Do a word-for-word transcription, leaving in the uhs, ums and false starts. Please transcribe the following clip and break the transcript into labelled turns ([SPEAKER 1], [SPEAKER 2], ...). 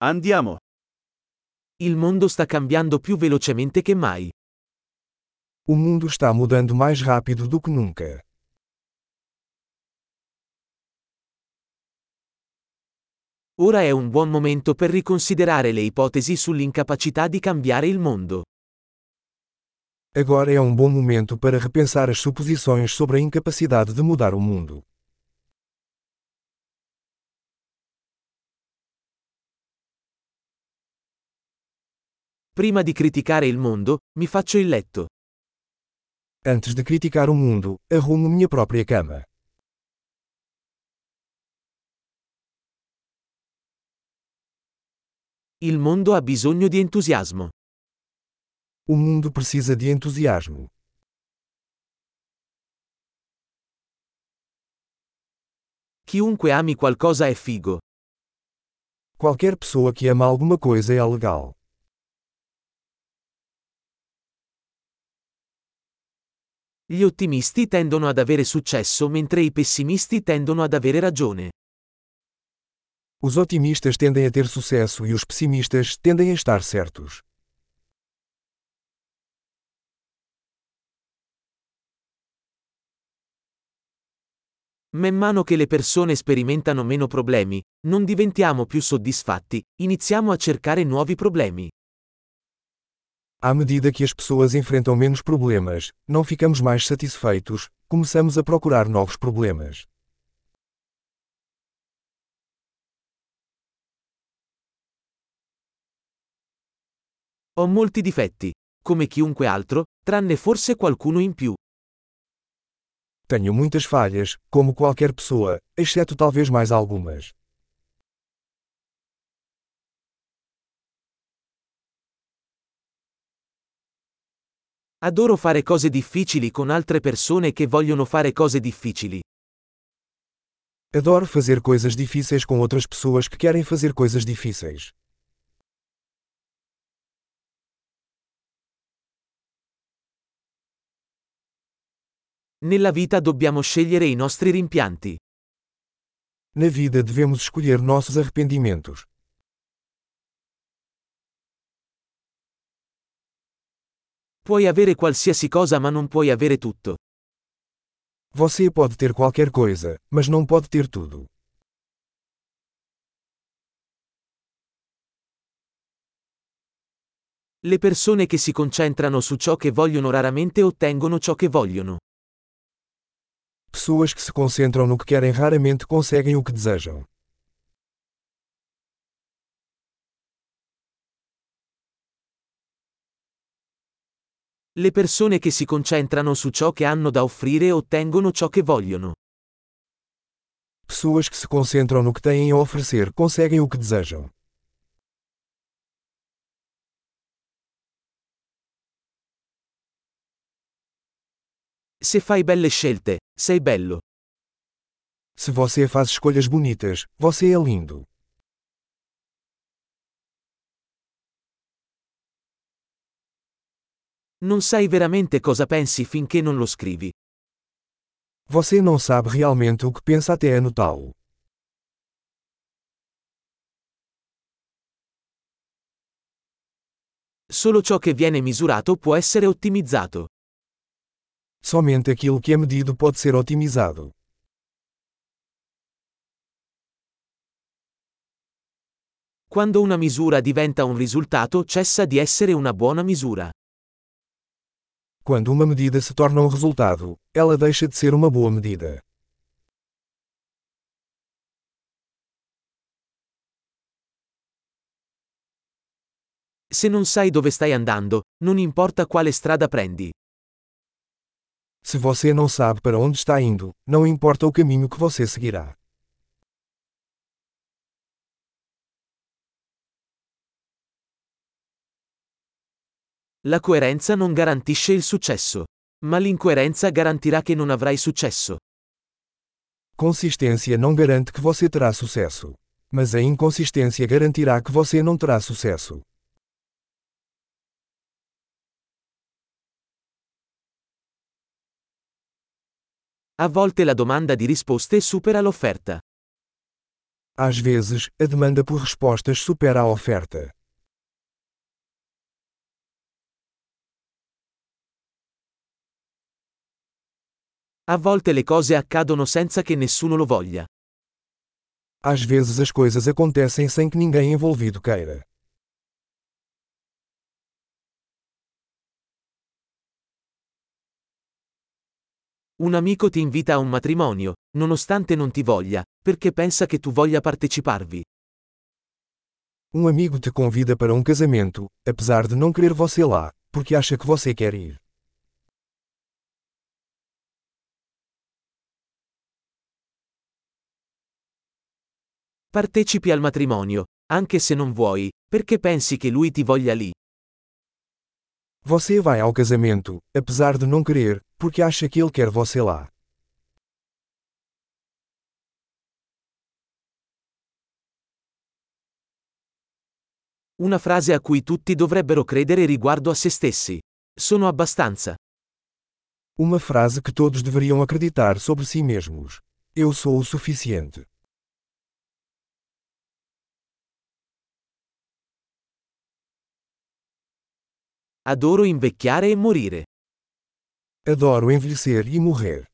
[SPEAKER 1] Andiamo.
[SPEAKER 2] Il mondo sta cambiando più velocemente che mai.
[SPEAKER 3] O mundo está mudando mais rápido do que nunca.
[SPEAKER 2] Ora è un buon momento per riconsiderare le ipotesi sull'incapacità di cambiare il mondo.
[SPEAKER 3] Agora é um bom momento para repensar as suposições sobre a incapacidade de mudar o mundo.
[SPEAKER 2] Prima di criticare il mondo, mi faccio il letto.
[SPEAKER 3] Antes de criticar o mundo, arrumo minha própria cama.
[SPEAKER 2] Il mondo ha bisogno di entusiasmo.
[SPEAKER 3] O mundo precisa de entusiasmo.
[SPEAKER 2] Chiunque ami qualcosa è figo.
[SPEAKER 3] Qualquer pessoa que ama alguma coisa é legal.
[SPEAKER 2] Gli ottimisti tendono ad avere successo mentre i pessimisti tendono ad avere ragione.
[SPEAKER 3] Os otimistas tendem a ter sucesso e os pessimistas tendem a estar certos.
[SPEAKER 2] Man mano che le persone sperimentano meno problemi, non diventiamo più soddisfatti, iniziamo a cercare nuovi problemi.
[SPEAKER 3] À medida que as pessoas enfrentam menos problemas, não ficamos mais satisfeitos, começamos a procurar novos problemas.
[SPEAKER 2] Ho molti difetti, come chiunque altro, tranne forse qualcuno in più.
[SPEAKER 3] Tenho muitas falhas, como qualquer pessoa, exceto talvez mais algumas.
[SPEAKER 2] Adoro fare cose difficili con altre persone che vogliono fare cose difficili.
[SPEAKER 3] Adoro fazer coisas difíceis com outras pessoas que querem fazer coisas difíceis.
[SPEAKER 2] Nella vita dobbiamo scegliere i nostri rimpianti.
[SPEAKER 3] Na vida devemos escolher nossos arrependimentos.
[SPEAKER 2] Puoi avere qualsiasi cosa ma non puoi avere tutto.
[SPEAKER 3] Você pode ter qualquer coisa, mas não pode ter tudo.
[SPEAKER 2] Le persone che si concentrano su ciò che vogliono raramente ottengono ciò che vogliono.
[SPEAKER 3] Pessoas que se concentram no que querem raramente conseguem o que desejam.
[SPEAKER 2] Le persone che si concentrano su ciò che hanno da offrire ottengono ciò che vogliono.
[SPEAKER 3] Pessoas que se concentram no que têm a oferecer conseguem o que desejam.
[SPEAKER 2] Se fai belle scelte, sei bello.
[SPEAKER 3] Se você faz escolhas bonitas, você é lindo.
[SPEAKER 2] Non sai veramente cosa pensi finché non lo scrivi.
[SPEAKER 3] Você não sabe realmente o que pensa até anotá-lo.
[SPEAKER 2] Solo ciò che viene misurato può essere ottimizzato.
[SPEAKER 3] Somente aquilo que é medido pode ser otimizado.
[SPEAKER 2] Quando una misura diventa un risultato, cessa di essere una buona misura.
[SPEAKER 3] Quando uma medida se torna um resultado, ela deixa de ser uma boa medida.
[SPEAKER 2] Se non sai dove stai andando, non importa quale strada prendi.
[SPEAKER 3] Se você não sabe para onde está indo, não importa o caminho que você seguirá.
[SPEAKER 2] La coerenza non garantisce il successo, ma l'incoerenza garantirà che non avrai successo.
[SPEAKER 3] Consistência não garante que você terá sucesso, mas a inconsistência garantirá que você não terá sucesso.
[SPEAKER 2] A volte la domanda di risposte supera l'offerta.
[SPEAKER 3] Às vezes, a demanda por respostas supera a oferta.
[SPEAKER 2] A volte le cose accadono senza che nessuno lo voglia.
[SPEAKER 3] Às vezes as coisas acontecem sem que ninguém envolvido queira.
[SPEAKER 2] Un amico ti invita a un matrimonio, nonostante non ti voglia, perché pensa che tu voglia parteciparvi.
[SPEAKER 3] Um amigo te convida para um casamento, apesar de não querer você lá, porque acha que você quer ir.
[SPEAKER 2] Partecipi al matrimonio, anche se non vuoi, perché pensi che lui ti voglia lì.
[SPEAKER 3] Você vai ao casamento, apesar de não querer, porque acha que ele quer você lá.
[SPEAKER 2] Una frase a cui tutti dovrebbero credere riguardo a se stessi. Sono abbastanza.
[SPEAKER 3] Uma frase que todos deveriam acreditar sobre si mesmos. Eu sou o suficiente.
[SPEAKER 2] Adoro invecchiare e morire.
[SPEAKER 3] Adoro envelhecer e morrer.